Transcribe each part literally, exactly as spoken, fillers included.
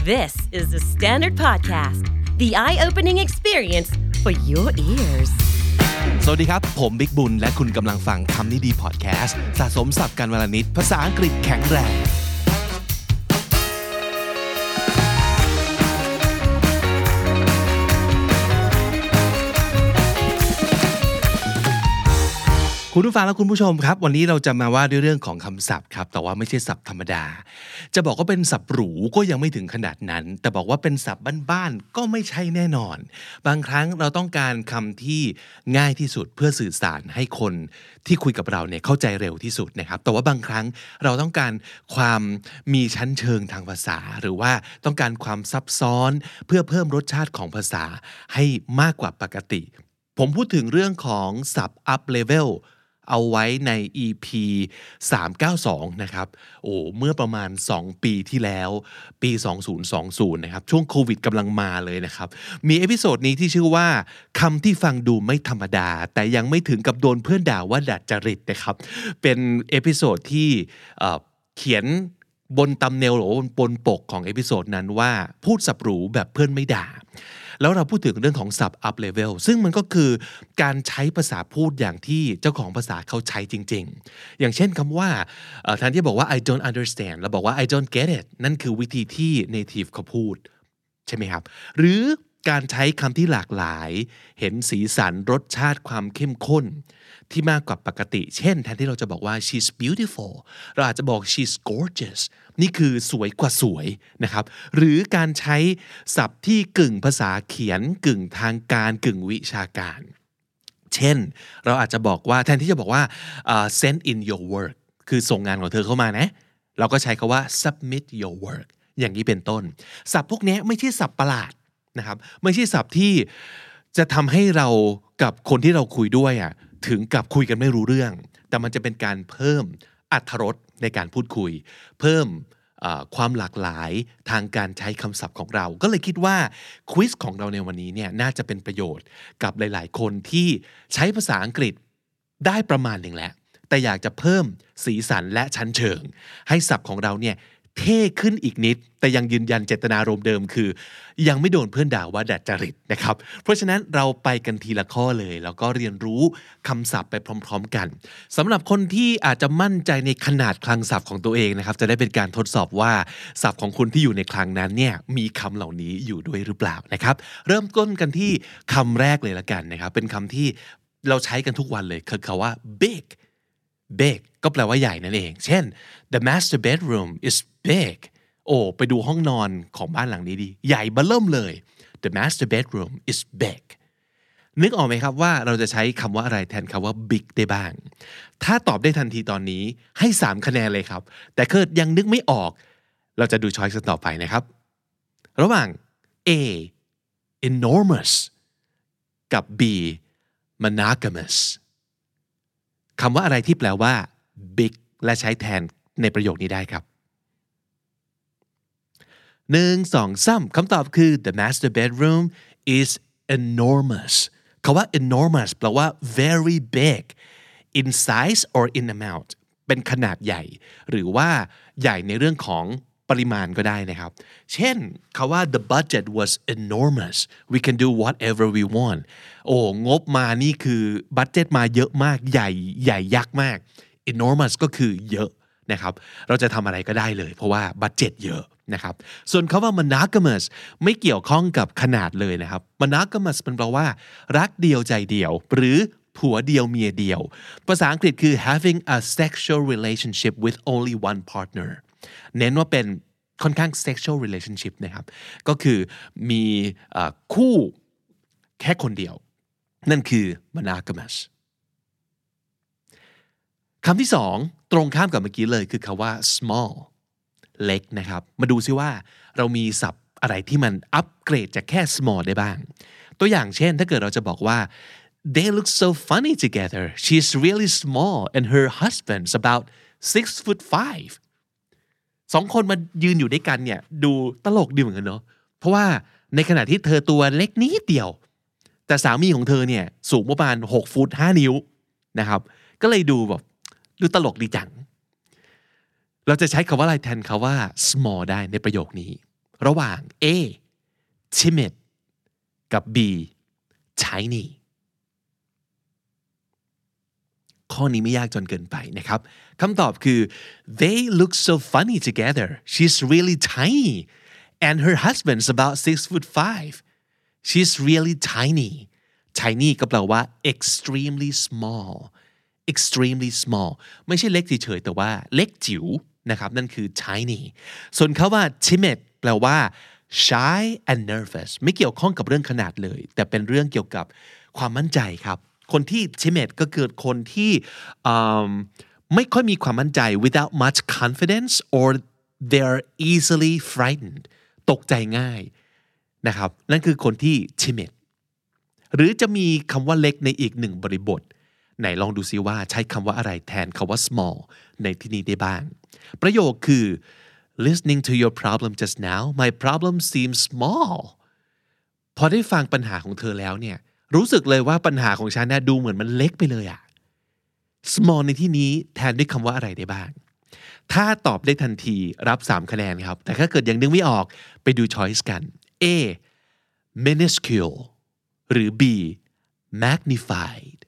This is the Standard Podcast, the eye-opening experience for your ears. สวัสดีครับผมบิ๊กบุญและคุณกำลังฟังคำนี้ดีพอดแคสต์สะสมศัพท์กันวลนิดภาษาอังกฤษแข็งแรงคุณผู้ฟังและคุณผู้ชมครับวันนี้เราจะมาว่าด้วยเรื่องของคำศัพท์ครับแต่ว่าไม่ใช่ศัพท์ธรรมดาจะบอกว่าเป็นศัพท์หรูก็ยังไม่ถึงขนาดนั้นแต่บอกว่าเป็นศัพท์บ้านๆก็ไม่ใช่แน่นอนบางครั้งเราต้องการคำที่ง่ายที่สุดเพื่อสื่อสารให้คนที่คุยกับเราเนี่ยเข้าใจเร็วที่สุดนะครับแต่ว่าบางครั้งเราต้องการความมีชั้นเชิงทางภาษาหรือว่าต้องการความซับซ้อนเพื่อเพิ่มรสชาติของภาษาให้มากกว่าปกติผมพูดถึงเรื่องของศัพท์ up levelเอาไว้ใน อี พี สามร้อยเก้าสิบสองนะครับโอ้เมื่อประมาณสองปีที่แล้วปีสองพันยี่สิบนะครับช่วงโควิดกำลังมาเลยนะครับมีเอพิโซดนี้ที่ชื่อว่าคำที่ฟังดูไม่ธรรมดาแต่ยังไม่ถึงกับโดนเพื่อนด่าว่าดัดจริตนะครับเป็นเอพิโซดที่เอ่อเขียนบนตัมเนลหรือบนปกของเอพิโซดนั้นว่าพูดสับหรูแบบเพื่อนไม่ด่าแล้วเราพูดถึงเรื่องของศัพท์ up level ซึ่งมันก็คือการใช้ภาษาพูดอย่างที่เจ้าของภาษาเขาใช้จริงๆอย่างเช่นคำว่าแทนที่บอกว่า I don't understand เราบอกว่า I don't get it นั่นคือวิธีที่ native เขาพูดใช่ไหมครับหรือการใช้คำที่หลากหลายเห็นสีสันรสชาติความเข้มข้นที่มากกว่าปกติเช่นแทนที่เราจะบอกว่า she's beautiful เราอาจจะบอก she's gorgeous นี่คือสวยกว่าสวยนะครับหรือการใช้ศัพท์ที่กึ่งภาษาเขียนกึ่งทางการกึ่งวิชาการเช่นเราอาจจะบอกว่าแทนที่จะบอกว่า uh, send in your work คือส่งงานของเธอเข้ามานะเราก็ใช้คำว่า submit your work อย่างนี้เป็นต้นศัพท์พวกนี้ไม่ใช่ศัพท์ประหลาดนะครับไม่ใช่ศัพท์ที่จะทำให้เรากับคนที่เราคุยด้วยอ่ะถึงกับคุยกันไม่รู้เรื่องแต่มันจะเป็นการเพิ่มอรรถรสในการพูดคุยเพิ่มความหลากหลายทางการใช้คำศัพท์ของเราก็เลยคิดว่าควิซของเราในวันนี้เนี่ยน่าจะเป็นประโยชน์กับหลายๆคนที่ใช้ภาษาอังกฤษได้ประมาณหนึ่งแล้วแต่อยากจะเพิ่มสีสันและชั้นเชิงให้ศัพท์ของเราเนี่ยเท่ขึ้นอีกนิดแต่ยังยืนยันเจตนารมณ์เดิมคือยังไม่โดนเพื่อนด่าว่าดัดจริตนะครับเพราะฉะนั้นเราไปกันทีละข้อเลยแล้วก็เรียนรู้คำศัพท์ไปพร้อมๆกันสำหรับคนที่อาจจะมั่นใจในขนาดคลังศัพท์ของตัวเองนะครับจะได้เป็นการทดสอบว่าศัพท์ของคุณที่อยู่ในคลังนั้นเนี่ยมีคำเหล่านี้อยู่ด้วยหรือเปล่านะครับเริ่มต้นกันที่คำแรกเลยละกันนะครับเป็นคำที่เราใช้กันทุกวันเลยคือคำว่า big big ก็แปลว่าใหญ่นั่นเองเช่น the master bedroom is big โอ้ไปดูห้องนอนของบ้านหลังนี้ดีใหญ่เบ้อเริ่มเลย the master bedroom is big นึกออกไหมครับว่าเราจะใช้คำว่าอะไรแทนคำว่า big ได้บ้างถ้าตอบได้ทันทีตอนนี้ให้สามคะแนนเลยครับแต่เกิดยังนึกไม่ออกเราจะดูช้อยส์ต่อไปนะครับระหว่าง A enormous กับ B monogamousคำว่าอะไรที่แปลว่า big และใช้แทนในประโยคนี้ได้ครับหนึ่ง สอง สามคำตอบคือ the master bedroom is enormous คำว่า enormous แปลว่า very big in size or in amount เป็นขนาดใหญ่หรือว่าใหญ่ในเรื่องของปริมาณก็ได้นะครับเช่นคำว่า the budget was enormous we can do whatever we want โอ้งบมานี่คือบัดเจ็ตมาเยอะมากใหญ่ใหญ่ยักษ์มาก enormous ก็คือเยอะนะครับเราจะทำอะไรก็ได้เลยเพราะว่าบัดเจ็ตเยอะนะครับส่วนคำว่า monogamous ไม่เกี่ยวข้องกับขนาดเลยนะครับ monogamous เป็นแปลว่ารักเดียวใจเดียวหรือผัวเดียวเมียเดียวภาษาอังกฤษคือ having a sexual relationship with only one partner เน้นว่าเป็นค่อนข้าง sexual relationship นะครับก็คือมีคู่แค่คนเดียวนั่นคือ monogamous คำที่สองตรงข้ามกับเมื่อกี้เลยคือคำว่า small เล็กนะครับมาดูซิว่าเรามีศัพท์อะไรที่มันอัปเกรดจากแค่ small ได้บ้างตัวอย่างเช่นถ้าเกิดเราจะบอกว่า they look so funny together she's really small and her husband's about six foot five สองคนมายืนอยู่ด้วยกันเนี่ยดูตลกดีเหมือนกันเนาะเพราะว่าในขณะที่เธอตัวเล็กนิดเดียวแต่สามีของเธอเนี่ยสูงประมาณหกฟุตห้านิ้วนะครับก็เลยดูแบบดูตลกดีจังเราจะใช้คำว่าอะไรแทนคำว่า small ได้ในประโยคนี้ระหว่าง A timid กับ B tiny ข้อนี้ไม่ยากจนเกินไปนะครับคำตอบคือ they look so funny together she's really tiny and her husband's about six foot five she's really tiny tiny ก็แปลว่า extremely small extremely small ไม่ใช่เล็กเฉยๆแต่ว่าเล็กจิ๋วนะครับนั่นคือ tiny ส่วนคำว่า timid แปลว่า shy and nervous ไม่เกี่ยวข้องกับเรื่องขนาดเลยแต่เป็นเรื่องเกี่ยวกับความมั่นใจครับคนที่ timid ก็คือคนที่ไม่ค่อยมีความมั่นใจ without much confidence or they're easily frightened ตกใจง่ายนะครับนั่นคือคนที่ timid หรือจะมีคำว่าเล็กในอีกหนึ่งบริบทไหนลองดูซิว่าใช้คำว่าอะไรแทนคำว่า small ในที่นี้ได้บ้างประโยคคือ listening to your problem just now my problem seems small พอได้ฟังปัญหาของเธอแล้วเนี่ยรู้สึกเลยว่าปัญหาของฉันเนี่ยดูเหมือนมันเล็กไปเลยอะ small ในที่นี้แทนด้วยคำว่าอะไรได้บ้างถ้าตอบได้ทันทีรับสามคะแนนครับแต่ถ้าเกิดยังนึกไม่ออกไปดู choice กัน A minuscule หรือ B magnified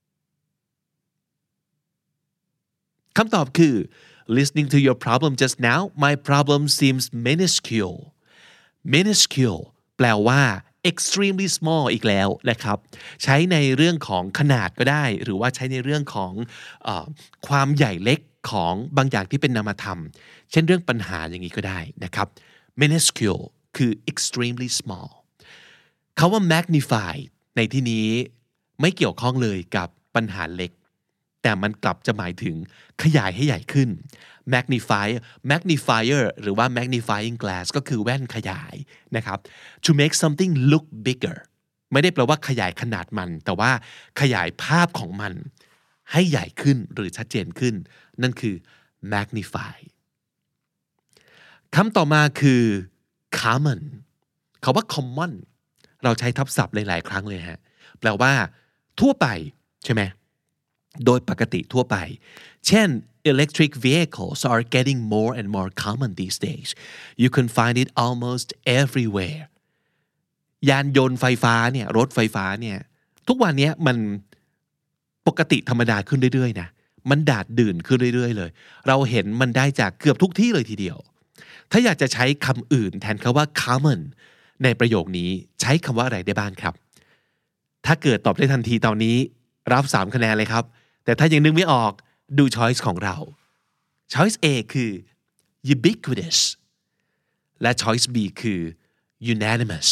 คำตอบคือ listening to your problem just now my problem seems minuscule minuscule แปลว่า extremely small อีกแล้วนะครับใช้ในเรื่องของขนาดก็ได้หรือว่าใช้ในเรื่องของเอ่อความใหญ่เล็กของบางอย่างที่เป็นนามธรรมเช่นเรื่องปัญหาอย่างนี้ก็ได้นะครับ minuscule คือ extremely small คำว่า magnify ในที่นี้ไม่เกี่ยวข้องเลยกับปัญหาเล็กแต่มันกลับจะหมายถึงขยายให้ใหญ่ขึ้น magnify magnifier หรือว่า magnifying glass ก็คือแว่นขยายนะครับ to make something look bigger ไม่ได้แปลว่าขยายขนาดมันแต่ว่าขยายภาพของมันให้ใหญ่ขึ้นหรือชัดเจนขึ้นนั่นคือ magnify คำต่อมาคือ common คำว่า common เราใช้ทับศัพท์หลายๆครั้งเลยฮะแปลว่าทั่วไปใช่ไหมโดยปกติทั่วไปเช่น electric vehicles are getting more and more common these days you can find it almost everywhere ยานยนต์ไฟฟ้าเนี่ยรถไฟฟ้าเนี่ยทุกวันนี้มันปกติธรรมดาขึ้นเรื่อยๆนะมันดาดดื่นขึ้นเรื่อยๆเลยเราเห็นมันได้จากเกือบทุกที่เลยทีเดียวถ้าอยากจะใช้คำอื่นแทนคำว่า common ในประโยคนี้ใช้คำว่าอะไรได้บ้างครับถ้าเกิดตอบได้ทันทีตอนนี้รับสามคะแนนเลยครับแต่ถ้ายังนึกไม่ออกดู choice ของเรา choice A คือ ubiquitous และ choice B คือ unanimous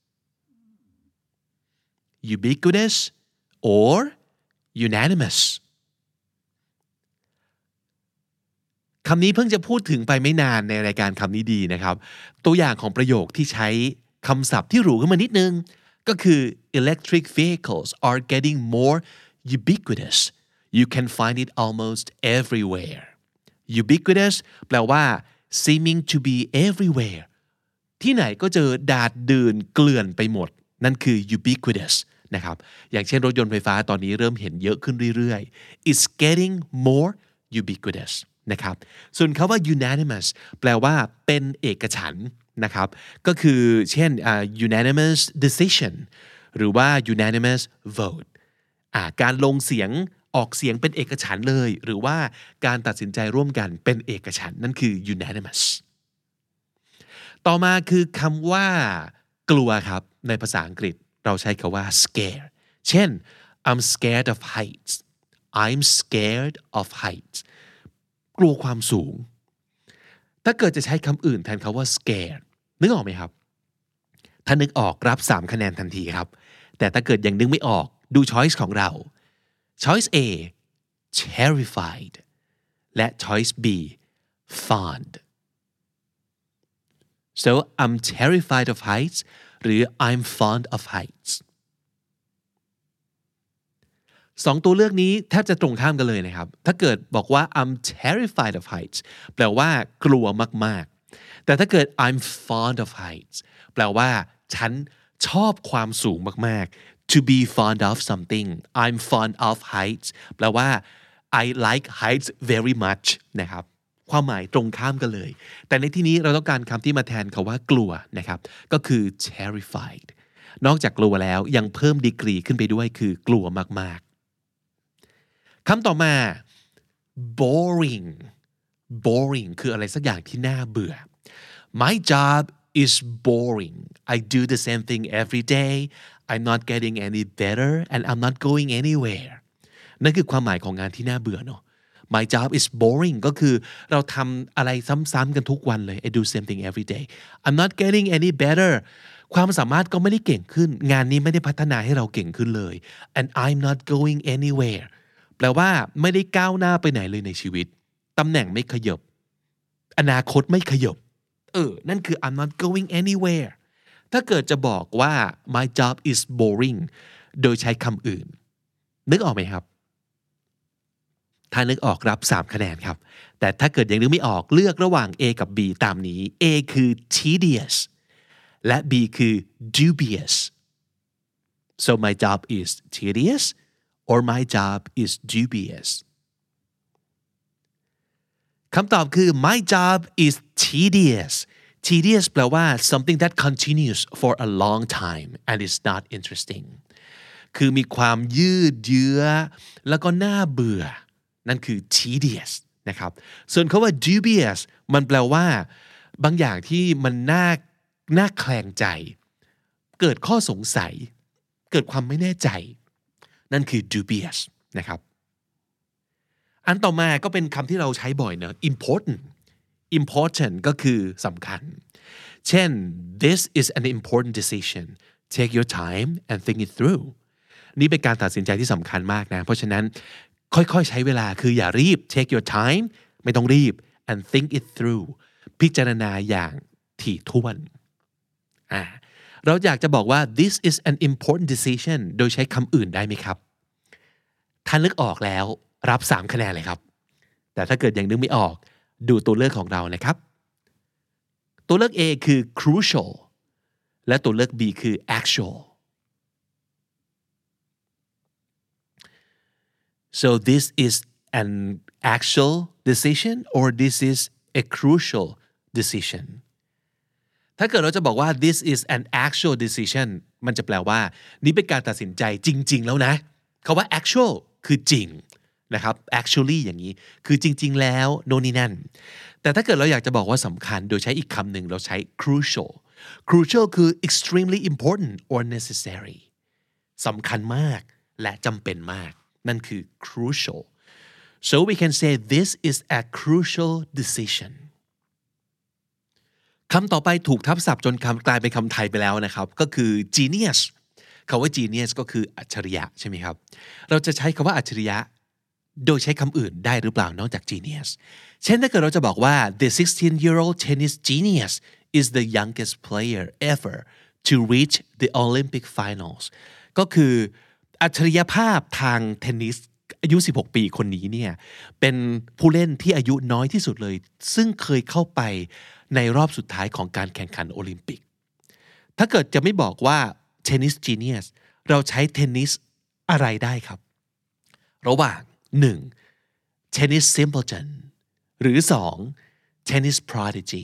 ubiquitous or unanimous คำนี้เพิ่งจะพูดถึงไปไม่นานในรายการคำนี้ดีนะครับตัวอย่างของประโยคที่ใช้คำศัพท์ที่หรูขึ้นมานิดนึงก็คือ electric vehicles are getting more ubiquitous you can find it almost everywhere ubiquitous แปลว่า seeming to be everywhere ที่ไหนก็เจอดาดดื่นเกลื่อนไปหมดนั่นคือ ubiquitous นะครับอย่างเช่นรถยนต์ไฟฟ้าตอนนี้เริ่มเห็นเยอะขึ้นเรื่อยๆ it's getting more ubiquitous นะครับส่วนคำว่า unanimous แปลว่าเป็นเอกฉันท์นะครับก็คือเช่น uh, unanimous decision หรือว่า unanimous vote อ่าการลงเสียงออกเสียงเป็นเอกฉันท์เลยหรือว่าการตัดสินใจร่วมกันเป็นเอกฉันท์นั่นคือ unanimous ต่อมาคือคำว่ากลัวครับในภาษาอังกฤษเราใช้คำว่า scare เช่น I'm scared of heights I'm scared of heights กลัวความสูงถ้าเกิดจะใช้คำอื่นแทนคำว่า scared นึกออกไหมครับถ้านึกออกรับสามคะแนนทันทีครับแต่ถ้าเกิดยังนึกไม่ออกดู choice ของเราChoice A terrified และ Choice B fond so I'm terrified of heights หรือ I'm fond of heights สองตัวเลือกนี้แทบจะตรงข้ามกันเลยนะครับถ้าเกิดบอกว่า I'm terrified of heights แปลว่ากลัวมากๆแต่ถ้าเกิด I'm fond of heights แปลว่าฉันชอบความสูงมากๆTo be fond of something I'm fond of heights แปลว่า I like heights very much นะครับความหมายตรงข้ามกันเลยแต่ในที่นี้เราต้องการคำที่มาแทนคำว่ากลัวนะครับก็คือ terrified นอกจากกลัวแล้วยังเพิ่มดีกรีขึ้นไปด้วยคือกลัวมากๆคำต่อมา boring boring คืออะไรสักอย่างที่น่าเบื่อ My job is boring I do the same thing every day I'm not getting any better and I'm not going anywhere นั่นคือความหมายของงานที่น่าเบื่อเนาะ My job is boring ก็คือเราทำอะไรซ้ำๆกันทุกวันเลย I do same thing every day I'm not getting any better ความสามารถก็ไม่ได้เก่งขึ้นงานนี้ไม่ได้พัฒนาให้เราเก่งขึ้นเลย and I'm not going anywhere แปลว่าไม่ได้ก้าวหน้าไปไหนเลยในชีวิตตำแหน่งไม่ขยับอนาคตไม่ขยับเออนั่นคือ I'm not going anywhere ถ้าเกิดจะบอกว่า my job is boring โดยใช้คำอื่นนึกออกไหมครับถ้านึกออกรับสามคะแนนครับแต่ถ้าเกิดยังนึกไม่ออกเลือกระหว่าง A กับ B ตามนี้ A คือ tedious และ B คือ dubious so my job is tedious or my job is dubious คำตอบคือ my job is tedious tedious แปลว่า something that continues for a long time and is not interesting คือมีความยืดเยื้อแล้วก็น่าเบื่อนั่นคือ tedious นะครับส่วนคำว่า dubious มันแปลว่าบางอย่างที่มันน่าน่าแคลงใจเกิดข้อสงสัยเกิดความไม่แน่ใจนั่นคือ dubious นะครับอันต่อมาก็เป็นคำที่เราใช้บ่อยเนอะ important important ก็คือสำคัญเช่น this is an important decision take your time and think it through นี่เป็นการตัดสินใจที่สำคัญมากนะเพราะฉะนั้นค่อยๆใช้เวลาคืออย่ารีบ take your time ไม่ต้องรีบ and think it through พิจารณาอย่างถี่ถ้วนอ่าเราอยากจะบอกว่า this is an important decision โดยใช้คำอื่นได้ไหมครับถ้านึกออกแล้วรับสามคะแนนเลยครับแต่ถ้าเกิดยังนึกไม่ออกดูตัวเลือกของเรานะครับตัวเลือก A คือ crucial และตัวเลือก B คือ actual so this is an actual decision or this is a crucial decision ถ้าเกิดเราจะบอกว่า this is an actual decision มันจะแปลว่านี่เป็นการตัดสินใจจริงๆแล้วนะคำว่า actual คือจริงนะครับ actually อย่างนี้คือจริงๆแล้วโน่นนี่นั่นแต่ถ้าเกิดเราอยากจะบอกว่าสำคัญโดยใช้อีกคำหนึ่งเราใช้ crucial crucial คือ extremely important or necessary สำคัญมากและจำเป็นมากนั่นคือ crucial so we can say this is a crucial decision คำต่อไปถูกทับศัพท์จนคำกลายเป็นคำไทยไปแล้วนะครับก็คือ genius คำว่า genius ก็คืออัจฉริยะใช่ไหมครับเราจะใช้คำว่าอัจฉริยะโดยใช้คำอื่นได้หรือเปล่านอกจาก genius เช่นถ้าเกิดเราจะบอกว่า the sixteen year old tennis genius is the youngest player ever to reach the Olympic finals ก็คืออัจฉริยภาพทางเทนนิสอายุสิบหกปีคนนี้เนี่ยเป็นผู้เล่นที่อายุน้อยที่สุดเลยซึ่งเคยเข้าไปในรอบสุดท้ายของการแข่งขันโอลิมปิกถ้าเกิดจะไม่บอกว่า tennis genius เราใช้ tennis อะไรได้ครับระหว่างหนึ่ง tennis simpleton หรือสอง tennis prodigy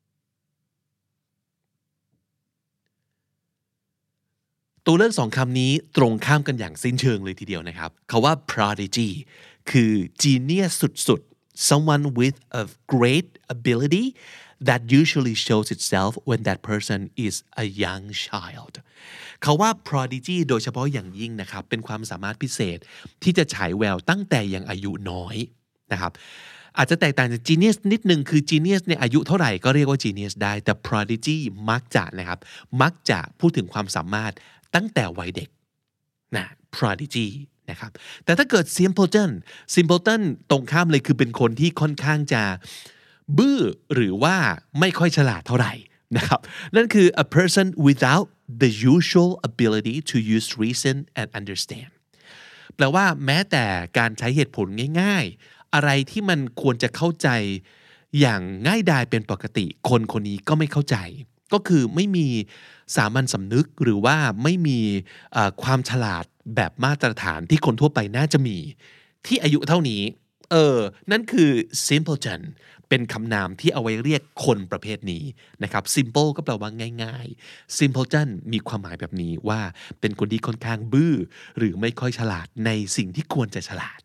ตัวเลือกสองคำนี้ตรงข้ามกันอย่างสิ้นเชิงเลยทีเดียวนะครับคำว่า prodigy คือ genius สุดๆ someone with a great ability that usually shows itself when that person is a young child คำว่า prodigy โดยเฉพาะอย่างยิ่งนะครับเป็นความสามารถพิเศษที่จะฉายแววตั้งแต่ยังอายุน้อยนะครับอาจจะแตกต่างจาก genius นิดนึงคือ genius ในอายุเท่าไหร่ก็เรียกว่า genius ได้แต่ prodigy มักจะนะครับมักจะพูดถึงความสามารถตั้งแต่วัยเด็กนะ prodigy นะครับแต่ถ้าเกิด simpleton simpleton ตรงข้ามเลยคือเป็นคนที่ค่อนข้างจะบื้อหรือว่าไม่ค่อยฉลาดเท่าไหร่นะครับนั่นคือ a person without the usual ability to use reason and understand แปลว่าแม้แต่การใช้เหตุผลง่ายๆอะไรที่มันควรจะเข้าใจอย่างง่ายดายเป็นปกติคนคนนี้ก็ไม่เข้าใจก็คือไม่มีสามัญสำนึกหรือว่าไม่มีความฉลาดแบบมาตรฐานที่คนทั่วไปน่าจะมีที่อายุเท่านี้เออนั่นคือ simpleton เป็นคำนามที่เอาไว้เรียกคนประเภทนี้นะครับ simple ก็แปลว่าง่ายๆ simpleton มีความหมายแบบนี้ว่าเป็นคนที่ค่อนข้างบื้อหรือไม่ค่อยฉลาดในสิ่งที่ควรจะฉลาด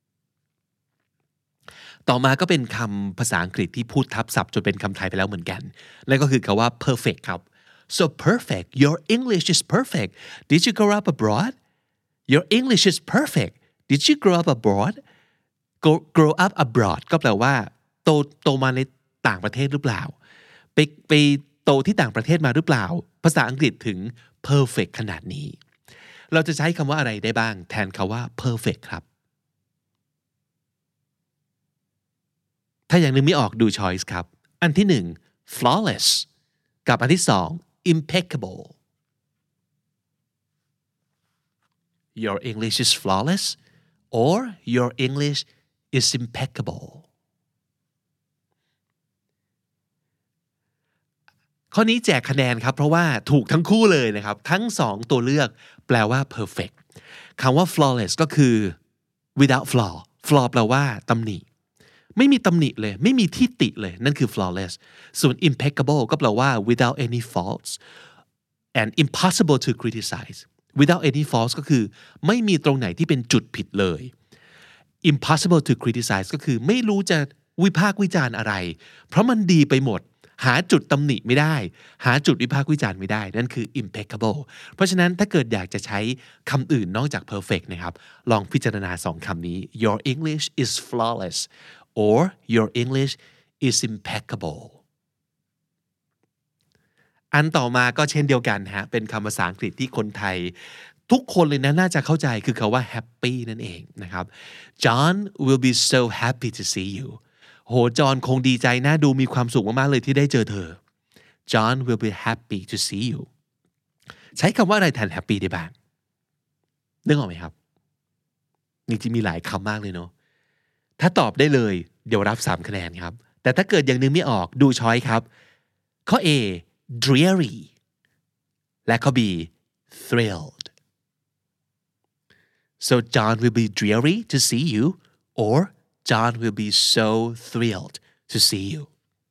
ต่อมาก็เป็นคำภาษาอังกฤษที่พูดทับศัพท์จนเป็นคำไทยไปแล้วเหมือนกันนั่นก็คือคำว่า perfect ครับ so perfect your English is perfect did you grow up abroad your English is perfect did you grow up abroad grow up abroad ก็แปลว่าโตโตมาในต่างประเทศหรือเปล่าไปไปโตที่ต่างประเทศมาหรือเปล่าภาษาอังกฤษถึง perfect ขนาดนี้เราจะใช้คำว่าอะไรได้บ้างแทนคำว่า perfect ครับถ้าอย่างนึงไม่ออกดู choice ครับอันที่หนึ่ง flawless กับอันที่สอง impeccable your English is flawless or your English is impeccable ข้อนี้แจกคะแนนครับเพราะว่าถูกทั้งคู่เลยนะครับทั้งสองตัวเลือกแปลว่า perfect คำว่า flawless ก็คือ without flaw flaw แปลว่าตำหนิไม่มีตำหนิเลยไม่มีที่ติเลยนั่นคือ flawless ส่วน impeccable ก็แปลว่า without any faults and impossible to criticize without any faults ก็คือไม่มีตรงไหนที่เป็นจุดผิดเลย impossible to criticize ก็คือไม่รู้จะวิพากษ์วิจารณ์อะไรเพราะมันดีไปหมดหาจุดตำหนิไม่ได้หาจุดวิพากษ์วิจารณ์ไม่ได้นั่นคือ impeccable เพราะฉะนั้นถ้าเกิดอยากจะใช้คำอื่นนอกจาก perfect นะครับลองพิจารณาสองคำนี้ your English is flawless or your English is impeccable อันต่อมาก็เช่นเดียวกันฮะเป็นคำภาษาอังกฤษที่คนไทยทุกคนเลยนะน่าจะเข้าใจคือคำว่า happy นั่นเองนะครับ John will be so happy to see you โหจอห์นคงดีใจน่าดูมีความสุขมากๆเลยที่ได้เจอเธอ John will be happy to see you ใช้คำว่าอะไรแทน happy ได้บ้างนึกออกไหมครับจริงๆมีหลายคำมากเลยเนาะถ้าตอบได้เลยเดี๋ยวรับสามคะแนนครับแต่ถ้าเกิดอย่างนึงไม่ออกดูช้อยครับข้อ A dreary และข้อ B thrilled so John will be dreary to see you or John will be so thrilled to see you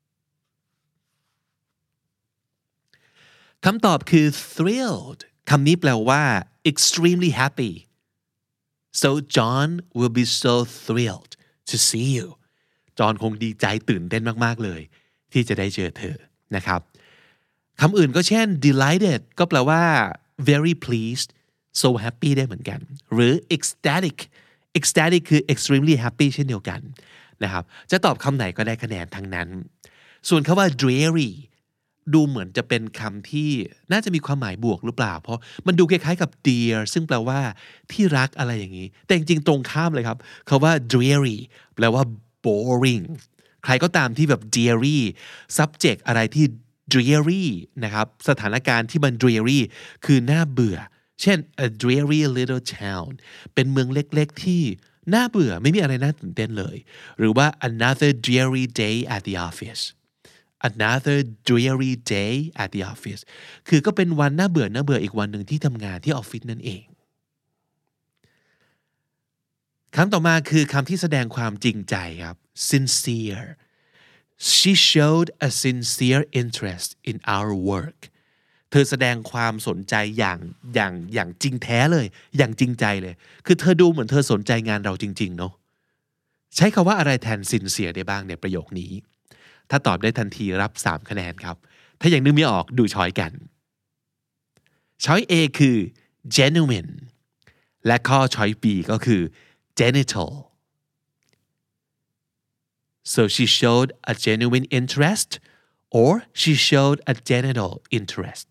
คำตอบคือ thrilled คำนี้แปลว่า extremely happy so John will be so thrilled to see you จอห์นคงดีใจตื่นเต้นมากๆเลยที่จะได้เจอเธอนะครับคำอื่นก็เช่น delighted ก็แปลว่า very pleased so happy ได้เหมือนกันหรือ ecstatic ecstatic คือ extremely happy เช่นเดียวกันนะครับจะตอบคำไหนก็ได้คะแนนทั้งนั้นส่วนคำว่า dreary ดูเหมือนจะเป็นคำที่น่าจะมีความหมายบวกหรือเปล่าเพราะมันดูคล้ายๆกับ dear ซึ่งแปลว่าที่รักอะไรอย่างนี้แต่จริงๆตรงข้ามเลยครับคำว่า dreary แปลว่า boring ใครก็ตามที่แบบ dreary subject อะไรที่ dreary นะครับสถานการณ์ที่มัน dreary คือน่าเบื่อเช่น a dreary little town เป็นเมืองเล็กๆที่น่าเบื่อไม่มีอะไรน่าตื่นเต้นเลยหรือว่า another dreary day at the office another dreary day at the office คือก็เป็นวันน่าเบื่อน่าเบื่ออีกวันหนึ่งที่ทำงานที่ออฟฟิศนั่นเองคำต่อมาคือคำที่แสดงความจริงใจครับ sincere she showed a sincere interest in our work เธอแสดงความสนใจอย่างอย่างอย่างจริงแท้เลยอย่างจริงใจเลยคือเธอดูเหมือนเธอสนใจงานเราจริงๆเนาะใช้คำว่าอะไรแทน sincere ได้บ้างในประโยคนี้ถ้าตอบได้ทันทีรับสามคะแนนครับถ้ายังนึกไม่ออกดูช้อยกันช้อย A คือ genuine และข้อช้อย B ก็คือ genital so she showed a genuine interest or she showed a genital interest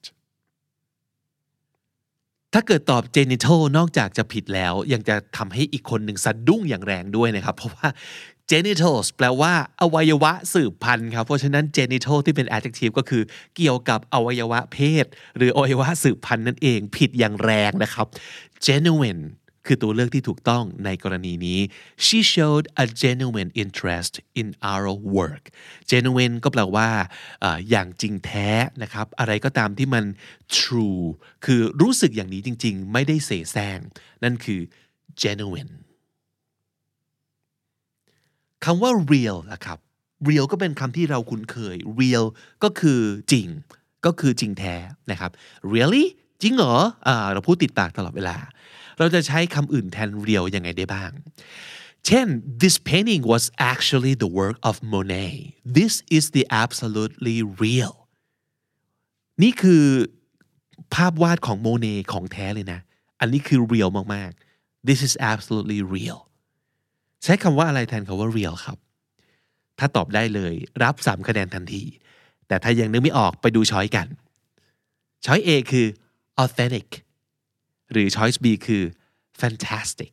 ถ้าเกิดตอบ genital นอกจากจะผิดแล้วยังจะทำให้อีกคนหนึ่งสะดุ้งอย่างแรงด้วยนะครับเพราะว่า genitals แปลว่าอวัยวะสืบพันธุ์ครับเพราะฉะนั้น genital ที่เป็น adjective ก็คือเกี่ยวกับอวัยวะเพศหรืออวัยวะสืบพันธุ์นั่นเองผิดอย่างแรงนะครับ genuine คือตัวเลือกที่ถูกต้องในกรณีนี้ she showed a genuine interest in our work genuine ก็แปลว่า อ, อย่างจริงแท้นะครับอะไรก็ตามที่มัน true คือรู้สึกอย่างนี้จริงๆไม่ได้เสแสร้งนั่นคือ genuine คำว่า real นะครับ real ก็เป็นคำที่เราคุ้นเคย real ก็คือจริงก็คือจริงแท้นะครับ really จริงเหรออ่าเราพูดติดปากตลอดเวลาเราจะใช้คำอื่นแทน real ยังไงได้บ้างเช่น this painting was actually the work of Monet this is the absolutely real นี่คือภาพวาดของโมเน่ของแท้เลยนะอันนี้คือ real มากๆ this is absolutely real ใช้คำว่าอะไรแทนคำว่า real ครับถ้าตอบได้เลยรับสามคะแนนทันทีแต่ถ้ายังนึกไม่ออกไปดูช้อยกันช้อย A คือ authentic หรือ choice B คือ fantastic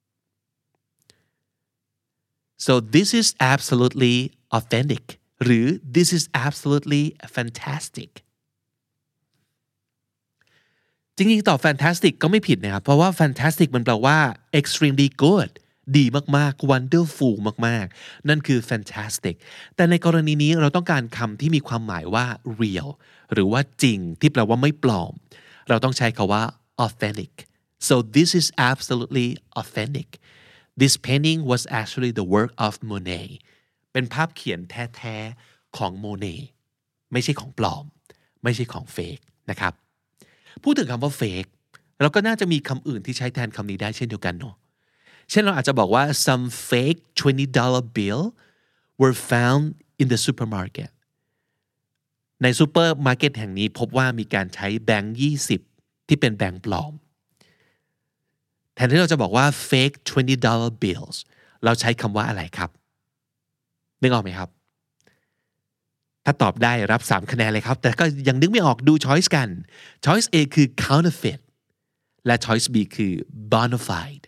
so this is absolutely authentic หรือ this is absolutely fantastic จริงๆตอบ fantastic ก็ไม่ผิดนะครับเพราะว่า fantastic มันแปลว่า extremely good ดีมากๆ wonderful มากๆนั่นคือ fantastic แต่ในกรณีนี้เราต้องการคำที่มีความหมายว่า real หรือว่าจริงที่แปลว่าไม่ปลอมเราต้องใช้คำว่า authentic so this is absolutely authentic this painting was actually the work of Monet เป็นภาพเขียนแท้ๆของโมเน่ไม่ใช่ของปลอมไม่ใช่ของเฟกนะครับพูดถึงคำว่า fake เราก็น่าจะมีคำอื่นที่ใช้แทนคำนี้ได้เช่นเดียวกันเนาะเช่นเราอาจจะบอกว่า some fake twenty dollar bill were found in the supermarket ในซูเปอร์มาร์เก็ตแห่งนี้พบว่ามีการใช้แบงค์ยี่สิบที่เป็นแบงค์ปลอมแทนที่เราจะบอกว่า fake twenty dollar bills เราใช้คำว่าอะไรครับนึกออกไหมครับถ้าตอบได้รับสามคะแนนเลยครับแต่ก็ยังนึกไม่ออกดู choice กัน choice A คือ counterfeit และ choice B คือ bona fide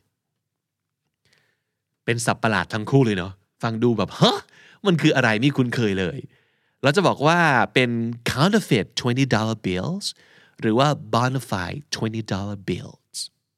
เป็นศัพท์ประหลาดทั้งคู่เลยเนาะฟังดูแบบฮะมันคืออะไรไม่คุ้นเคยเลยเราจะบอกว่าเป็น counterfeit twenty dollar bills หรือว่า bona fide twenty dollar bills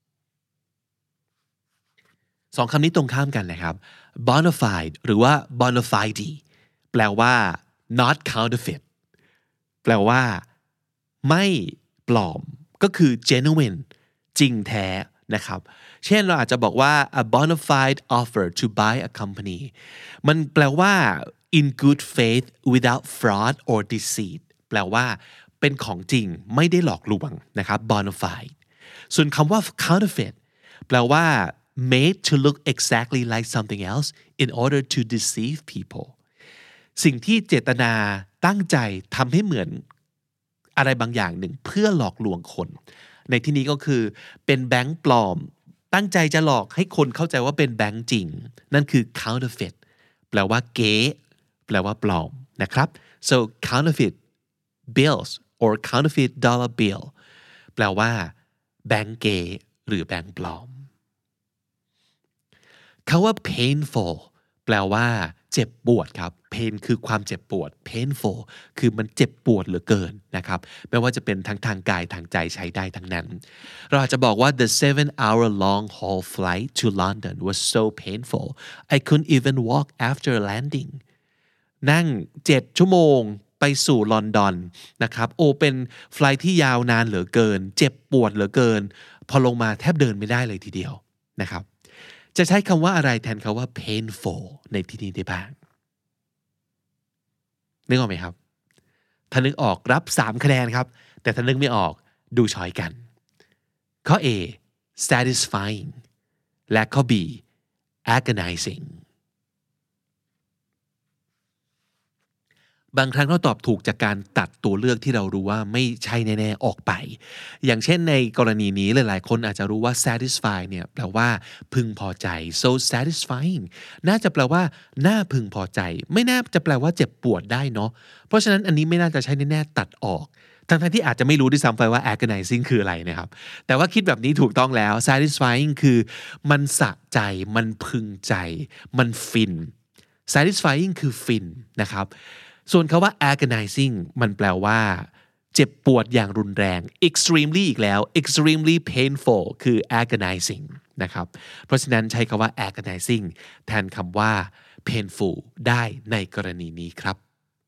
สองคำนี้ตรงข้ามกันนะครับ bona fide หรือว่า bona fide แปลว่า not counterfeit แปลว่าไม่ปลอมก็คือ genuine จริงแท้นะครับเช่นเราอาจจะบอกว่า a bona fide offer to buy a company มันแปลว่า in good faith without fraud or deceit แปลว่าเป็นของจริงไม่ได้หลอกลวงนะครับ bona fide ส่วนคำว่า counterfeit แปลว่า made to look exactly like something else in order to deceive people สิ่งที่เจตนาตั้งใจทำให้เหมือนอะไรบางอย่างหนึ่งเพื่อหลอกลวงคนในที่นี้ก็คือเป็นแบงค์ปลอมตั้งใจจะหลอกให้คนเข้าใจว่าเป็นแบงค์จริงนั่นคือ counterfeit แปลว่าเก๊แปลว่าปลอมนะครับ so counterfeit bills or counterfeit dollar bill แปลว่าแบงค์เก๊หรือแบงค์ปลอมคำว่า painful แปลว่าเจ็บปวดครับ pain คือความเจ็บปวด painful คือมันเจ็บปวดเหลือเกินนะครับไม่ว่าจะเป็นทั้งทางกายทางใจใช้ได้ทั้งนั้นเราอาจจะบอกว่า the seven hour long haul flight to London was so painful I couldn't even walk after landing นั่งเจ็ดชั่วโมงไปสู่ลอนดอนนะครับโอ้เป็นไฟล์ที่ยาวนานเหลือเกินเจ็บปวดเหลือเกินพอลงมาแทบเดินไม่ได้เลยทีเดียวนะครับจะใช้คำว่าอะไรแทนคำว่า painful ในที่นี้ได้บ้างนึกออกไหมครับถ้านึกออกรับสามคะแนนครับแต่ถ้านึกไม่ออกดูช้อยกันข้อ A satisfying และข้อ B agonizing บางครั้งเราตอบถูกจากการตัดตัวเลือกที่เรารู้ว่าไม่ใช่แน่ๆออกไปอย่างเช่นในกรณีนี้หลายๆคนอาจจะรู้ว่า satisfy เนี่ยแปลว่าพึงพอใจ so satisfying น่าจะแปลว่าน่าพึงพอใจไม่น่าจะแปลว่าเจ็บปวดได้เนาะเพราะฉะนั้นอันนี้ไม่น่าจะใช่แน่ๆตัดออกทั้งๆที่อาจจะไม่รู้ด้วยซ้ำไปว่า agonizing คืออะไรนะครับแต่ว่าคิดแบบนี้ถูกต้องแล้ว satisfying คือมันสะใจมันพึงใจมันฟิน satisfying คือฟินนะครับส่วนคำว่า agonizing มันแปลว่าเจ็บปวดอย่างรุนแรง extremely อีกแล้ว extremely painful คือ agonizing นะครับเพราะฉะนั้นใช้คำว่า agonizing แทนคำว่า painful ได้ในกรณีนี้ครับ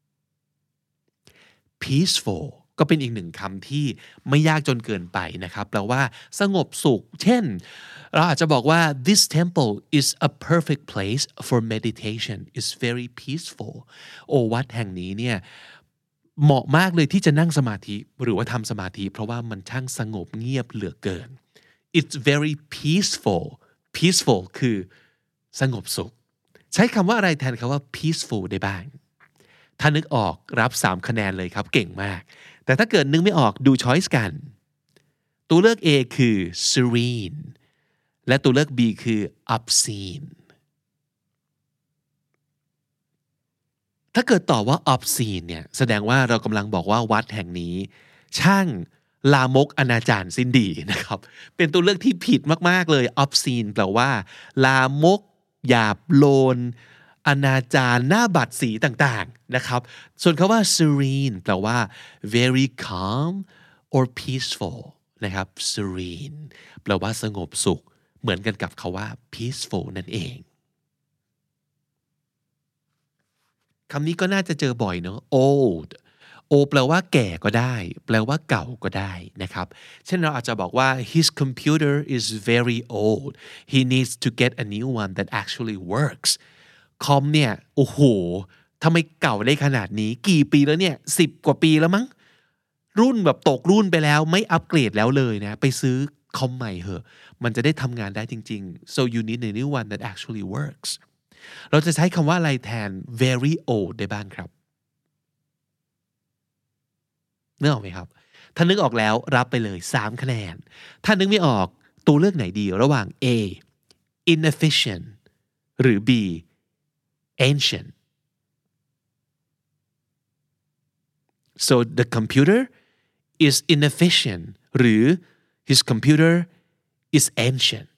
peaceful ก็เป็นอีกหนึ่งคำที่ไม่ยากจนเกินไปนะครับแปลว่าสงบสุขเช่นเราอาจจะบอกว่า this temple is a perfect place for meditation it's very peaceful โอ้วัดแห่งนี้เนี่ยเหมาะมากเลยที่จะนั่งสมาธิหรือว่าทำสมาธิเพราะว่ามันช่างสงบเงียบเหลือเกิน it's very peaceful peaceful คือสงบสุขใช้คำว่าอะไรแทนคำว่า peaceful ได้บ้างถ้านึกออกรับสามคะแนนเลยครับเก่งมากแต่ถ้าเกิดนึกไม่ออกดู choice กันตัวเลือก A คือ serene และตัวเลือก B คือ obscene ถ้าเกิดตอบว่า obscene เนี่ยแสดงว่าเรากำลังบอกว่าวัดแห่งนี้ช่างลามกอนาจารสิ้นดีนะครับเป็นตัวเลือกที่ผิดมากๆเลย obscene แปลว่าลามกหยาบโลนอนาจารหน้าบัดสีต่างๆนะครับส่วนคำว่า serene แปลว่า very calm or peaceful นะครับ serene แปลว่าสงบสุขเหมือนกันกับคำว่า peaceful นั่นเองคำนี้ก็น่าจะเจอบ่อยเนอะ old old แปลว่าแก่ก็ได้แปลว่าเก่าก็ได้นะครับเช่นเราอาจจะบอกว่า his computer is very old he needs to get a new one that actually works คอมเนี่ยโอ้โหทำไมเก่าได้ขนาดนี้กี่ปีแล้วเนี่ยสิบกว่าปีแล้วมั้งรุ่นแบบตกรุ่นไปแล้วไม่อัปเกรดแล้วเลยนะไปซื้อคอมใหม่เหอะมันจะได้ทำงานได้จริงๆ so you need a new one that actually works เราจะใช้คำว่าอะไรแทน very old ได้บ้างครับนึกออกไหมครับถ้านึกออกแล้วรับไปเลยสามคะแนนถ้านึกไม่ออกตัวเลือกไหนดีระหว่าง A inefficient หรือ B ancient so the computer is inefficient หรือ his computer is ancient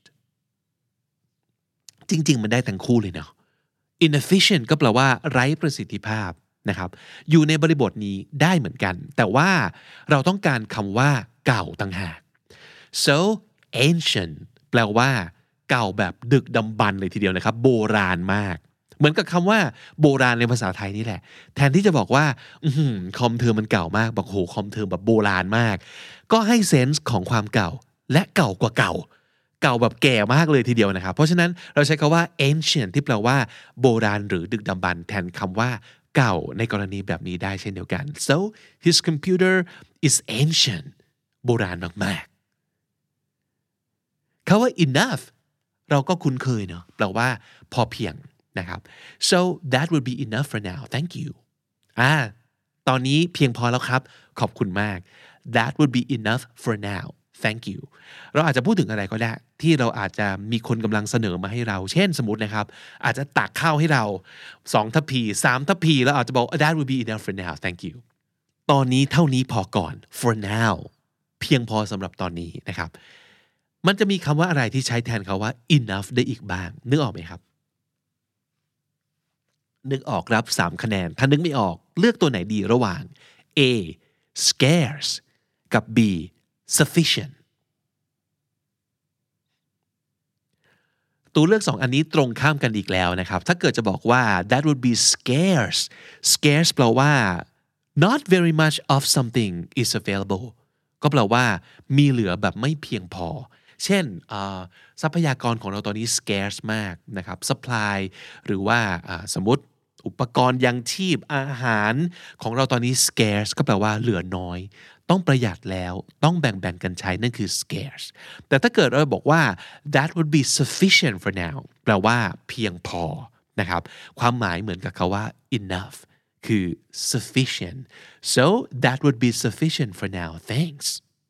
จริงๆมันได้ทั้งคู่เลยเนาะ inefficient ก็แปลว่าไร้ประสิทธิภาพนะครับอยู่ในบริบทนี้ได้เหมือนกันแต่ว่าเราต้องการคำว่าเก่าต่างหาก so ancient แปลว่าเก่าแบบดึกดำบรรพ์เลยทีเดียวนะครับโบราณมากเหมือนกับคำว่าโบราณในภาษาไทยนี่แหละแทนที่จะบอกว่าอื้อหือคอมเธอมันเก่ามากบอกโหคอมเธอแบบโบราณมากก็ให้เซนส์ของความเก่าและเก่ากว่าเก่าเก่าแบบแก่มากเลยทีเดียวนะครับเพราะฉะนั้นเราใช้คำว่า ancient ที่แปลว่าโบราณหรือดึกดำบรรพ์แทนคำว่าเก่าในกรณีแบบนี้ได้เช่นเดียวกัน so his computer is ancient โบราณมากๆคำว่า enough เราก็คุ้นเคยเนาะแปลว่าพอเพียงนะครับ so that would be enough for now thank you อ่าตอนนี้เพียงพอแล้วครับขอบคุณมาก that would be enough for now thank you เราอาจจะพูดถึงอะไรก็ได้ที่เราอาจจะมีคนกำลังเสนอมาให้เราเช่นสมมตินะครับอาจจะตักข้าวให้เราสองทัพพีสามทัพพีแล้วอาจจะบอก that would be enough for now thank you ตอนนี้เท่านี้พอก่อน for now เพียงพอสำหรับตอนนี้นะครับมันจะมีคำว่าอะไรที่ใช้แทนคำว่า enough ได้อีกบ้างนึกออกไหมครับนึกออกรับสามคะแนนถ้านึกไม่ออกเลือกตัวไหนดีระหว่าง A scarce กับ B sufficient ตัวเลือกสองอันนี้ตรงข้ามกันอีกแล้วนะครับถ้าเกิดจะบอกว่า that would be scarce scarce แปลว่า not very much of something is available ก็แปลว่ามีเหลือแบบไม่เพียงพอเช่นทรัพยากรของเราตอนนี้ scarce มากนะครับ supply หรือว่าสมมติอุปกรณ์ยังชีพอาหารของเราตอนนี้ scarce ก็แปลว่าเหลือน้อยต้องประหยัดแล้วต้องแบ่งๆกันใช้นั่นคือ scarce แต่ถ้าเกิดเราบอกว่า that would be sufficient for now แปลว่าเพียงพอนะครับความหมายเหมือนกับคำว่า enough คือ sufficient so that would be sufficient for now thanks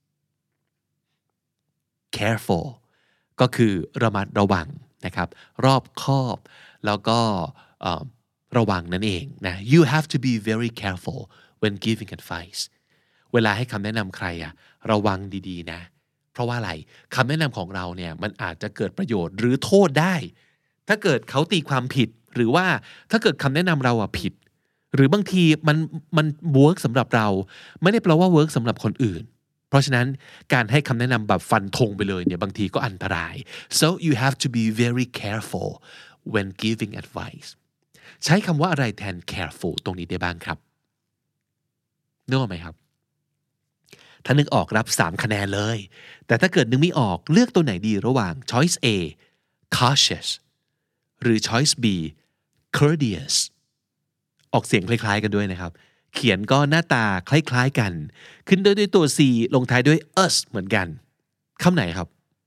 careful ก็คือระมัดระวังนะครับรอบคอบแล้วก็ระวังนั่นเองนะ you have to be very careful when giving advice เวลาให้คำแนะนำใครอะระวังดีๆนะเพราะว่าอะไรคำแนะนำของเราเนี่ยมันอาจจะเกิดประโยชน์หรือโทษได้ถ้าเกิดเขาตีความผิดหรือว่าถ้าเกิดคำแนะนำเราอะผิดหรือบางทีมันมันเวิร์กสำหรับเราไม่ได้แปลว่าเวิร์กสำหรับคนอื่นเพราะฉะนั้นการให้คำแนะนำแบบฟันธงไปเลยเนี่ยบางทีก็อันตราย so you have to be very careful when giving advice ใช้คำว่าอะไรแทน careful ตรงนี้ได้บ้างครับนึกออกไหมครับถ้านึกออกรับสามคะแนนเลยแต่ถ้าเกิดนึกไม่ออกเลือกตัวไหนดีระหว่าง choice A cautious หรือ choice B courteous ออกเสียงคล้ายๆกันด้วยนะครับเขียนก็หน้าตาคล้ายๆกันขึ้นด้วยด้วยตัว C ลงท้ายด้วย us เหมือนกันคำไหนครับ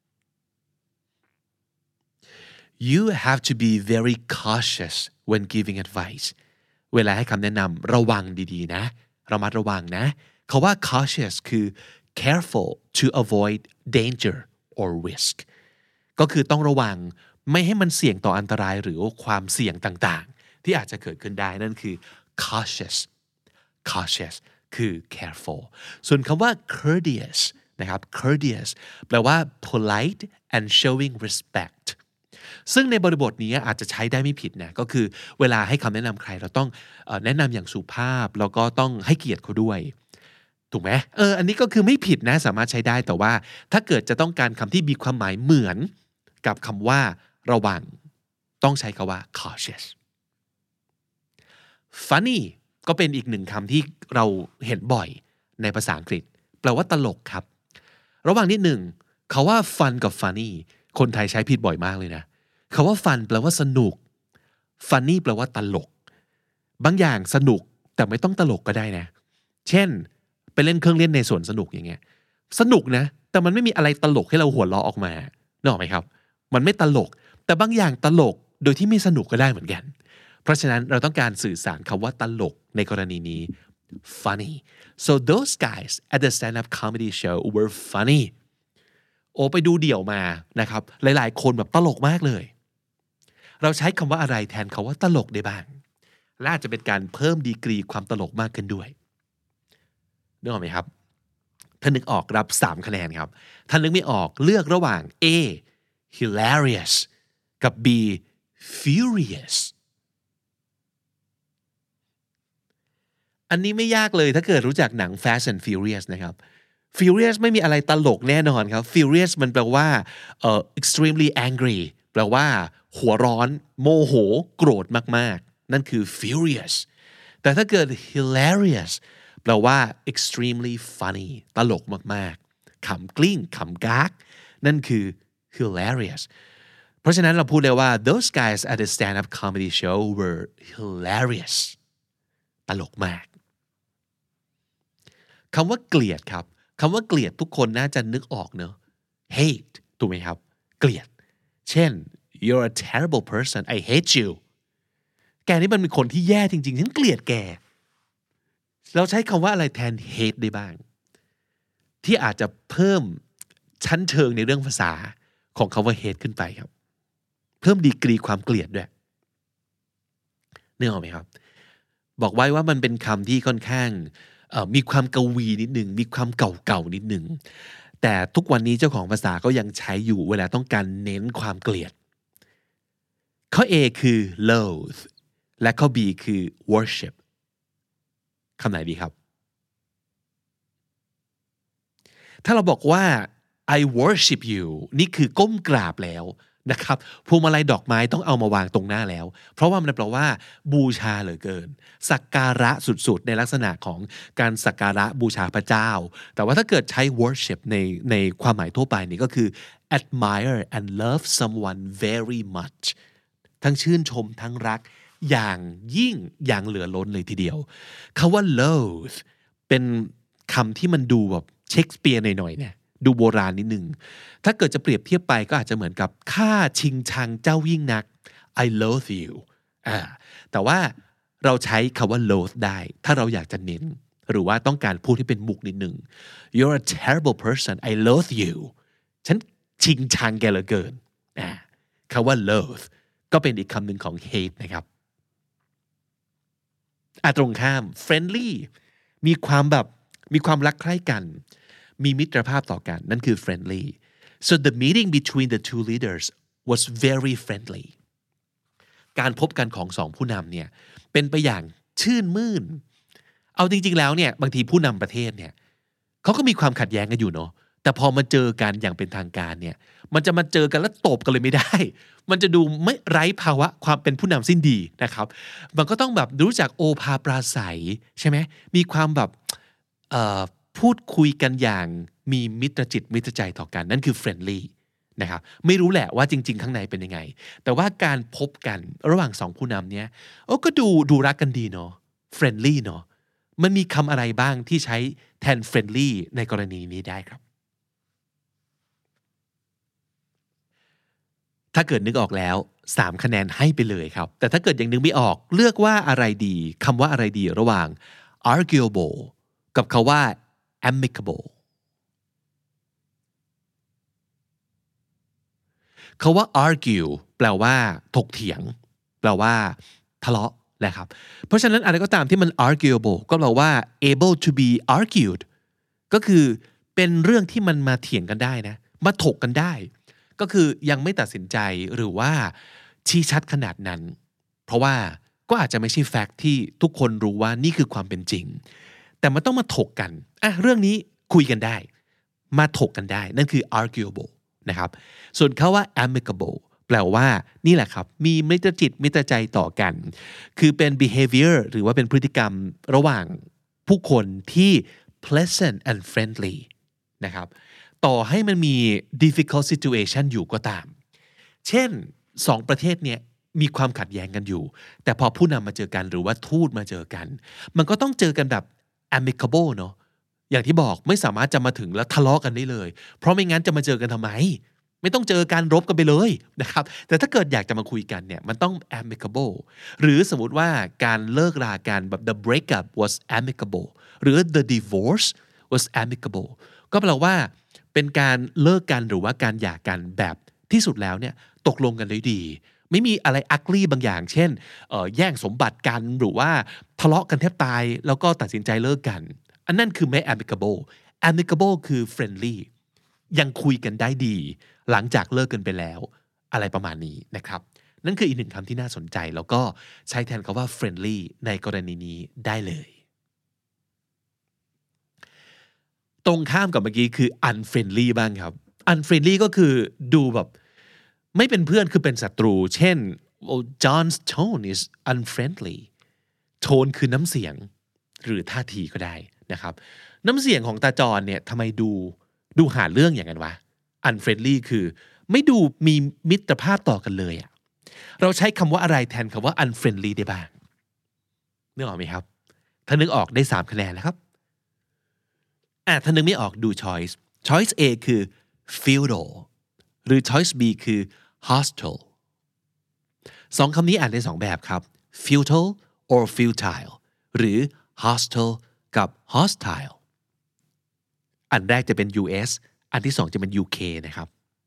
You have to be very cautious when giving advice เวลาให้คำแนะนำระวังดีๆนะระมัดระวังนะคำว่า cautious คือ careful to avoid danger or risk ก็คือต้องระวังไม่ให้มันเสี่ยงต่ออันตรายหรือความเสี่ยงต่างๆที่อาจจะเกิดขึ้นได้นั่นคือ cautious cautious คือ careful ส่วนคำว่า courteous นะครับ courteous แปลว่า polite and showing respect ซึ่งในบริบทนี้อาจจะใช้ได้ไม่ผิดนะก็คือเวลาให้คำแนะนำใครเราต้องแนะนำอย่างสุภาพแล้วก็ต้องให้เกียรติเขาด้วยถูกไหมเอออันนี้ก็คือไม่ผิดนะสามารถใช้ได้แต่ว่าถ้าเกิดจะต้องการคำที่มีความหมายเหมือนกับคำว่าระวังต้องใช้คำว่า cautious funny ก็เป็นอีกหนึ่งคำที่เราเห็นบ่อยในภาษาอังกฤษแปลว่าตลกครับระหว่างนิดหนึ่งคำว่า fun กับ funny คนไทยใช้ผิดบ่อยมากเลยนะคำว่า fun แปลว่าสนุก funny แปลว่าตลกบางอย่างสนุกแต่ไม่ต้องตลกก็ได้นะเช่นไปเล่นเครื่องเล่นในสวนสนุกอย่างเงี้ยสนุกนะแต่มันไม่มีอะไรตลกให้เราหัวเราะออกมานึกออกไหมครับมันไม่ตลกแต่บางอย่างตลกโดยที่ไม่สนุกก็ได้เหมือนกันเพราะฉะนั้นเราต้องการสื่อสารคำว่าตลกในกรณีนี้ funny so those guys at the stand-up comedy show were funny โอ้ไปดูเดี่ยวมานะครับหลายๆคนแบบตลกมากเลยเราใช้คำว่าอะไรแทนคำว่าตลกได้บ้างและอาจจะเป็นการเพิ่มดีกรีความตลกมากขึ้นด้วยนึกออกไหมครับถ้านึกออกรับสามคะแนนครับถ้านึกไม่ออกเลือกระหว่าง A hilarious กับ B furious อันนี้ไม่ยากเลยถ้าเกิดรู้จักหนัง Fast and Furious นะครับ Furious ไม่มีอะไรตลกแน่นอนครับ Furious มันแปลว่าเอ่อ extremely angry แปลว่าหัวร้อนโมโหโกรธมากๆนั่นคือ furious แต่ถ้าเกิด hilarious แปลว่า extremely funny ตลกมากๆขำกลิ้งขำกากนั่นคือ hilarious เพราะฉะนั้นเราพูดเลยว่า those guys at the stand-up comedy show were hilarious ตลกมากคำว่าเกลียดครับคำว่าเกลียดทุกคนน่าจะนึกออกเนอะ hate ถูกไหมครับเกลียดเช่น you're a terrible person I hate you แกนี่มันเป็นคนที่แย่จริงๆฉันเกลียดแกเราใช้คำว่าอะไรแทน hate ได้บ้างที่อาจจะเพิ่มชั้นเชิงในเรื่องภาษาของคำว่า hate ขึ้นไปครับเพิ่มดีกรีความเกลียดด้วยนึกออกไหมครับบอกไว้ว่ามันเป็นคำที่ค่อนข้างมีความกวีนิดนึงมีความเก่าๆนิดนึงแต่ทุกวันนี้เจ้าของภาษาก็ยังใช้อยู่เวลาต้องการเน้นความเกลียดข้อ A คือ loathe และข้อ B คือ worship คำไหนดีครับถ้าเราบอกว่า I worship you นี่คือก้มกราบแล้วนะครับพวงมาลัยดอกไม้ต้องเอามาวางตรงหน้าแล้วเพราะว่ามันแปลว่าบูชาเหลือเกินสักการะสุดๆในลักษณะของการสักการะบูชาพระเจ้าแต่ว่าถ้าเกิดใช้ worship ในในความหมายทั่วไปนี่ก็คือ admire and love someone very much ทั้งชื่นชมทั้งรักอย่างยิ่งอย่างเหลือล้นเลยทีเดียวคำว่า loathe เป็นคำที่มันดูแบบเชคสเปียร์หน่อยๆเนี่ยดูโบราณนิดนึงถ้าเกิดจะเปรียบเทียบไปก็อาจจะเหมือนกับข้าชิงชังเจ้ายิ่งนัก I loathe you อ่าแต่ว่าเราใช้คำว่า loathe ได้ถ้าเราอยากจะเน้นหรือว่าต้องการพูดให้เป็นมุกนิดนึง You're a terrible person I loathe you ฉันชิงชังแกเหลือเกินอ่าคำว่า loathe ก็เป็นอีกคำหนึ่งของ hate นะครับอ่ะตรงข้าม friendly มีความแบบมีความรักใคร่กันมีมิตรภาพต่อกันนั่นคือ friendly so the meeting between the two leaders was very friendly การพบกันของสองผู้นำเนี่ยเป็นไปอย่างชื่นมื่นเอาจริงๆแล้วเนี่ยบางทีผู้นำประเทศเนี่ยเขาก็มีความขัดแย้งกันอยู่เนาะแต่พอมาเจอกันอย่างเป็นทางการเนี่ยมันจะมาเจอกันแล้วตบกันเลยไม่ได้มันจะดูไม่ไร้ภาวะความเป็นผู้นำสิ้นดีนะครับมันก็ต้องแบบรู้จักโอภาปราศัยใช่ไหมมีความแบบเอ่อพูพูดคุยกันอย่างมีมิตรจิตมิตรใจต่อกันนั่นคือ friendly นะครับไม่รู้แหละว่าจริงๆข้างในเป็นยังไงแต่ว่าการพบกันระหว่างสองผู้นำเนี้ยโอ้ก็ดูดูรักกันดีเนาะ friendly เนาะมันมีคำอะไรบ้างที่ใช้แทน friendly ในกรณีนี้ได้ครับถ้าเกิดนึกออกแล้วสามคะแนนให้ไปเลยครับแต่ถ้าเกิดยังนึกไม่ออกเลือกว่าอะไรดีคำว่าอะไรดีระหว่าง arguable กับคำว่า amicable คำว่า argue แปลว่าถกเถียงแปลว่าทะเลาะนะครับเพราะฉะนั้นอะไรก็ตามที่มัน arguable ก็แปลว่า able to be argued ก็คือเป็นเรื่องที่มันมาเถียงกันได้นะมาถกกันได้ก็คือยังไม่ตัดสินใจหรือว่าชี้ชัดขนาดนั้นเพราะว่าก็อาจจะไม่ใช่แฟกต์ที่ทุกคนรู้ว่านี่คือความเป็นจริงแต่มันต้องมาถกกันอ่ะเรื่องนี้คุยกันได้มาถกกันได้นั่นคือ arguable นะครับส่วนคำว่า amicable แปลว่านี่แหละครับมีมิตรจิตมิตรใจต่อกันคือเป็น behavior หรือว่าเป็นพฤติกรรมระหว่างผู้คนที่ pleasant and friendly นะครับต่อให้มันมี difficult situation อยู่ก็ตามเช่นสองประเทศเนี่ยมีความขัดแย้งกันอยู่แต่พอผู้นำมาเจอกันหรือว่าทูตมาเจอกันมันก็ต้องเจอกันแบบ amicable เนาะอย่างที่บอกไม่สามารถจะมาถึงแล้วทะเลาะกันได้เลยเพราะไม่งั้นจะมาเจอกันทำไมไม่ต้องเจอการรบกันไปเลยนะครับแต่ถ้าเกิดอยากจะมาคุยกันเนี่ยมันต้อง amicable หรือสมมุติว่าการเลิกรากันแบบ the breakup was amicable หรือ the divorce was amicable ก็แปลว่าเป็นการเลิกกันหรือว่าการหย่ากันแบบที่สุดแล้วเนี่ยตกลงกันได้ดีไม่มีอะไรอักลี่บางอย่างเช่นเอ่อแย่งสมบัติกันหรือว่าทะเลาะกันแทบตายแล้วก็ตัดสินใจเลิกกันอันนั้นคือไม่ amicable amicable คือ friendly ยังคุยกันได้ดีหลังจากเลิกกันไปแล้วอะไรประมาณนี้นะครับนั่นคืออีกหนึ่งคำที่น่าสนใจแล้วก็ใช้แทนคำว่า friendly ในกรณีนี้ได้เลยตรงข้ามกับเมื่อกี้คือ unfriendly บ้างครับ unfriendly ก็คือดูแบบไม่เป็นเพื่อนคือเป็นศัตรูเช่น well, John's tone is unfriendly โทนคือน้ำเสียงหรือท่าทีก็ได้นะครับน้ำเสียงของตาจอนเนี่ยทำไมดูดูหาเรื่องอย่างนั้นวะ unfriendly คือไม่ดูมีมิตรภาพต่อกันเลยอะเราใช้คำว่าอะไรแทนคำว่า unfriendly ได้บ้างนึกออกไหมครับถ้านึกออกได้สามคะแนนแล้วครับอ่ะถ้านึกไม่ออกดู choice choice A คือ feudal หรือ choice B คือ hostile สองคำนี้อ่านได้สองแบบครับ feudal or futile หรือ hostile กับ hostile อันแรกจะเป็น ยู เอส อันที่สองจะเป็น ยู เค นะครับ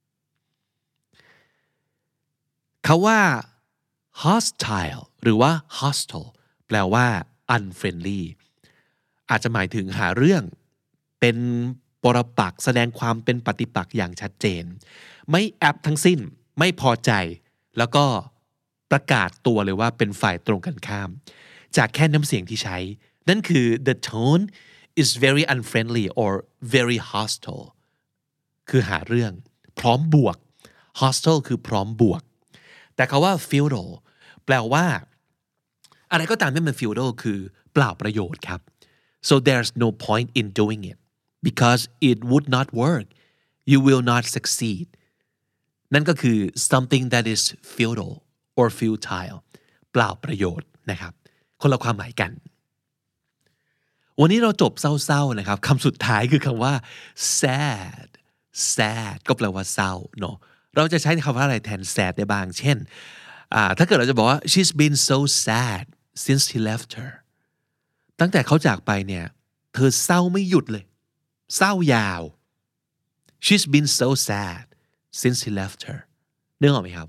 คำว่า hostile หรือว่า hostile แปลว่า unfriendly อาจจะหมายถึงหาเรื่องเป็นปรปักษ์แสดงความเป็นปฏิปักษ์อย่างชัดเจนไม่แอบทั้งสิ้นไม่พอใจแล้วก็ประกาศตัวเลยว่าเป็นฝ่ายตรงกันข้ามจากแค่น้ำเสียงที่ใช้นั่นคือ the tone is very unfriendly or very hostile คือหาเรื่องพร้อมบวก hostile คือพร้อมบวกแต่คำว่า feudal แปลว่าอะไรก็ตามที่มัน feudal คือเปล่าประโยชน์ครับ so there's no point in doing it because it would not work you will not succeed นั่นก็คือ something that is feudal or futile เปล่าประโยชน์นะครับคนละความหมายกันวันนี้เราจบเศร้าๆนะครับคำสุดท้ายคือคำว่า sad sad ก็แปลว่าเศร้าเนาะเราจะใช้คำว่าอะไรแทน sad ได้บ้างเช่นถ้าเกิดเราจะบอกว่า she's been so sad since he left her ตั้งแต่เขาจากไปเนี่ยเธอเศร้าไม่หยุดเลยเศร้ายาว she's been so sad since he left her นึกออกไหมครับ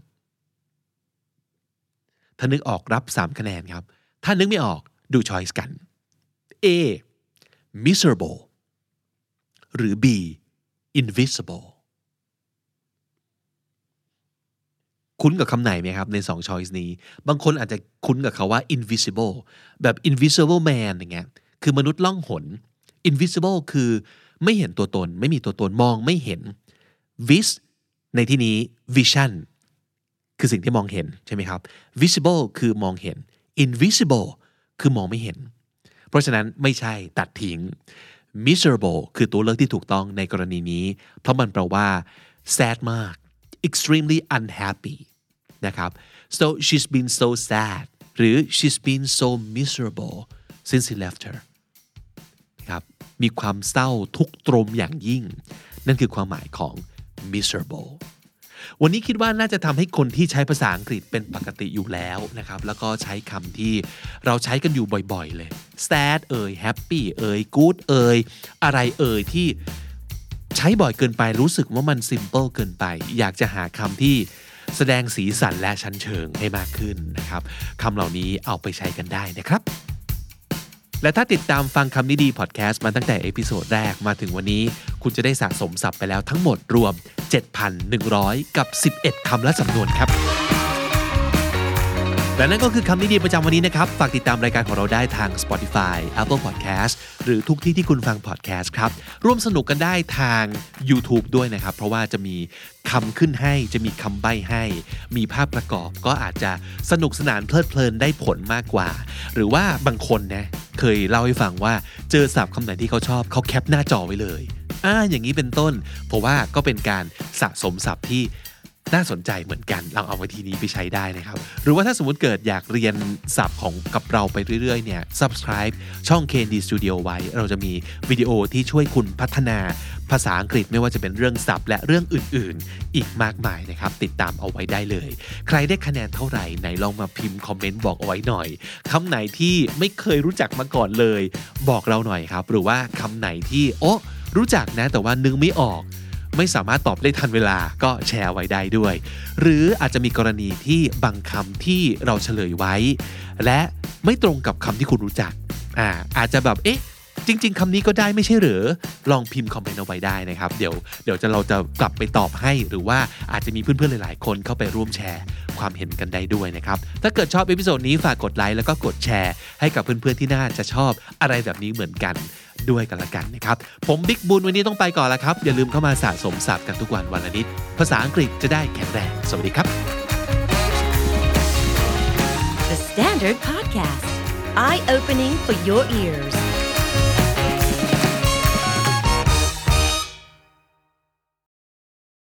ถ้านึกออกรับสามคะแนนครับถ้านึกไม่ออกดู choice กัน A miserable หรือ B invisible คุ้นกับคำไหนไหมครับในสอง choice นี้บางคนอาจจะคุ้นกับคำว่า invisible แบบ invisible man อย่างเงี้ยคือมนุษย์ล่องหน invisible คือไม่เห็นตัวตนไม่มีตัวตนมองไม่เห็น vis ในที่นี้ vision คือสิ่งที่มองเห็นใช่ไหมครับ visible คือมองเห็น invisible คือมองไม่เห็นเพราะฉะนั้นไม่ใช่ตัดทิ้ง miserable คือตัวเลือกที่ถูกต้องในกรณีนี้เพราะมันแปลว่า sad มาก extremely unhappy นะครับ so she's been so sad หรือ she's been so miserable since he left her นะครับมีความเศร้าทุกข์ตรมอย่างยิ่งนั่นคือความหมายของ miserable วันนี้คิดว่าน่าจะทำให้คนที่ใช้ภาษาอังกฤษเป็นปกติอยู่แล้วนะครับแล้วก็ใช้คำที่เราใช้กันอยู่บ่อยๆเลย sad เอ่ย happy เอ่ย good เอ่ยอะไรเอ่ยที่ใช้บ่อยเกินไปรู้สึกว่ามัน simple เกินไปอยากจะหาคำที่แสดงสีสันและชั้นเชิงให้มากขึ้นนะครับคำเหล่านี้เอาไปใช้กันได้นะครับและถ้าติดตามฟังคำนี้ดีพอดแคสต์มาตั้งแต่เอพิโซดแรกมาถึงวันนี้คุณจะได้สะสมศัพท์ไปแล้วทั้งหมดรวม เจ็ดพันหนึ่งร้อย กับสิบเอ็ดคำและสำนวนครับและนั่นก็คือคำนี้ดีประจำวันนี้นะครับฝากติดตามรายการของเราได้ทาง Spotify Apple Podcast หรือทุกที่ที่คุณฟัง podcast ครับร่วมสนุกกันได้ทาง YouTube ด้วยนะครับเพราะว่าจะมีคำขึ้นให้จะมีคำใบ้ให้มีภาพประกอบก็อาจจะสนุกสนานเพลิดเพลินได้ผลมากกว่าหรือว่าบางคนนะเคยเล่าให้ฟังว่าเจอศัพท์คำไหนที่เขาชอบเขาแคปหน้าจอไว้เลยอ่าอย่างนี้เป็นต้นเพราะว่าก็เป็นการสะสมศัพท์ที่น่าสนใจเหมือนกันลองเอาวิธีนี้ไปใช้ได้นะครับหรือว่าถ้าสมมุติเกิดอยากเรียนศัพท์ของกับเราไปเรื่อยๆเนี่ย subscribe ช่อง เค เอ็น ดี Studio ไว้เราจะมีวิดีโอที่ช่วยคุณพัฒนาภาษาอังกฤษไม่ว่าจะเป็นเรื่องศัพท์และเรื่องอื่นๆอีกมากมายนะครับติดตามเอาไว้ได้เลยใครได้คะแนนเท่าไหร่ไหนลองมาพิมพ์คอมเมนต์บอกเอาไว้หน่อยคำไหนที่ไม่เคยรู้จักมาก่อนเลยบอกเราหน่อยครับหรือว่าคำไหนที่โอ้รู้จักนะแต่ว่านึกไม่ออกไม่สามารถตอบได้ทันเวลาก็แชร์ไว้ได้ด้วยหรืออาจจะมีกรณีที่บางคำที่เราเฉลยไว้และไม่ตรงกับคำที่คุณรู้จักอ่าอาจจะแบบเอ๊ะจริงๆคำนี้ก็ได้ไม่ใช่หรือลองพิมพ์คอมเมนต์เอาไว้ได้นะครับเดี๋ยวเดี๋ยวจะเราจะกลับไปตอบให้หรือว่าอาจจะมีเพื่อนๆหลายๆคนเข้าไปร่วมแชร์ความเห็นกันได้ด้วยนะครับถ้าเกิดชอบเอพิโซดนี้ฝากกดไลค์แล้วก็กดแชร์ให้กับเพื่อนๆที่น่าจะชอบอะไรแบบนี้เหมือนกันด้วยกันละกันนะครับผมบิ๊กบุญวันนี้ต้องไปก่อนแล้วครับอย่าลืมเข้ามาสะสมศัพท์กันทุกวันวันละนิดภาษาอังกฤษจะได้แข็งแรงสวัสดีครับ The Standard Podcast Eye Opening for Your Ears